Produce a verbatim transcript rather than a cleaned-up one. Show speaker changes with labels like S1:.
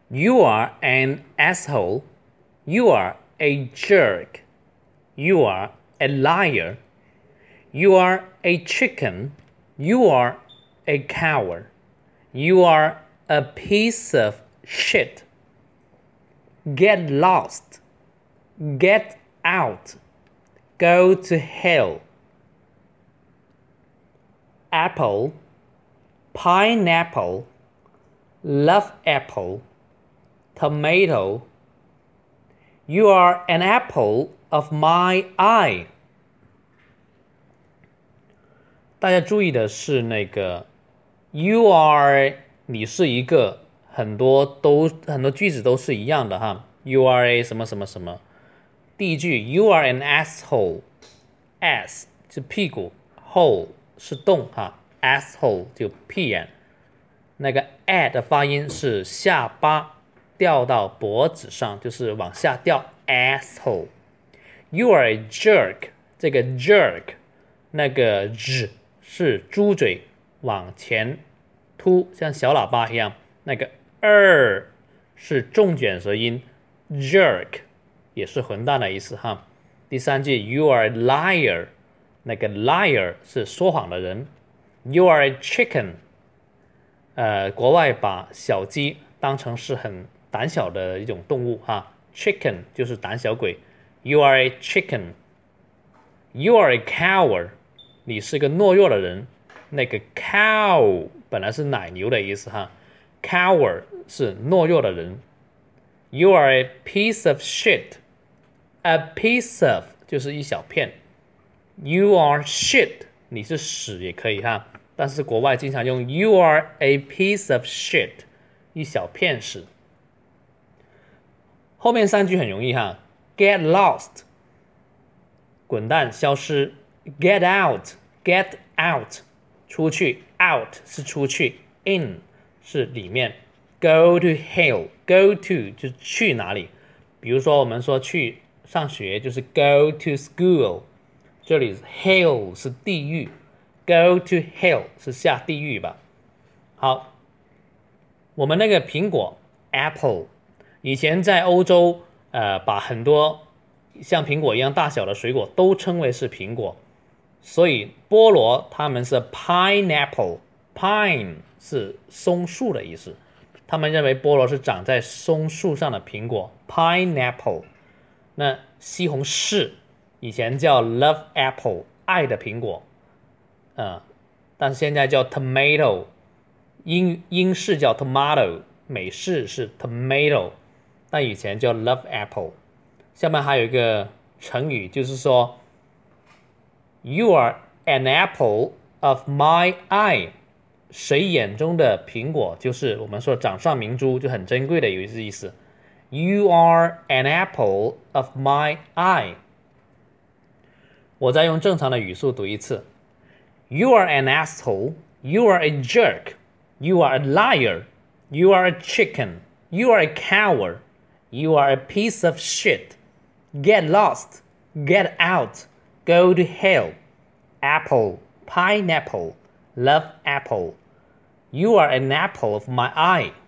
S1: You are an asshole. You are a jerk. You are a liar. You are a chicken. You are a coward. You are a piece of shit. Get lost. Get out. Go to hell. Apple, pineapple, love apple, tomato. You are an apple of my eye. 大家注意的是那个 you are 你是一个很多都很多句子都是一样的哈 you are a 什么什么什么第一句 you are an asshole ass 是屁股 hole 是洞哈 asshole 就屁眼那个 a 的发音是下巴掉到脖子上就是往下掉 asshole you are a jerk 这个 jerk 那个 z 是猪嘴往前凸像小喇叭一样那个 er 是重卷舌音 jerk 也是混蛋的意思哈第三句 you are a liar 那个 liar 是说谎的人 you are a chicken 呃，国外把小鸡当成是很胆小的一种动物哈 chicken 就是胆小鬼 you are a chicken you are a coward 你是个懦弱的人那个 cow 本来是奶牛的意思哈 coward 是懦弱的人 you are a piece of shit a piece of 就是一小片 you are shit 你是屎也可以哈但是国外经常用 you are a piece of shit 一小片屎后面三句很容易哈 get lost 滚蛋消失 get out get out 出去 out 是出去 in 是里面 go to hell go to 就是去哪里比如说我们说去上学就是 go to school 这里 hell 是地狱 go to hell 是下地狱吧好我们那个苹果 apple 以前在欧洲呃，把很多像苹果一样大小的水果都称为是苹果所以菠萝他们是 pineapple pine 是松树的意思他们认为菠萝是长在松树上的苹果 pineapple 那西红柿以前叫 love apple 爱的苹果、呃、但是现在叫 tomato 英英式叫 tomato 美式是 tomato 但以前叫 love apple 下面还有一个成语就是说 you are an apple of my eye 谁眼中的苹果就是我们说掌上明珠就很珍贵的有意思 you are an apple of my eye 我再用正常的语速读一次 you are an asshole you are a jerk you are a liar you are a chicken you are a coward you are a piece of shit get lost get out go to hell apple pineapple love apple you are an apple of my eye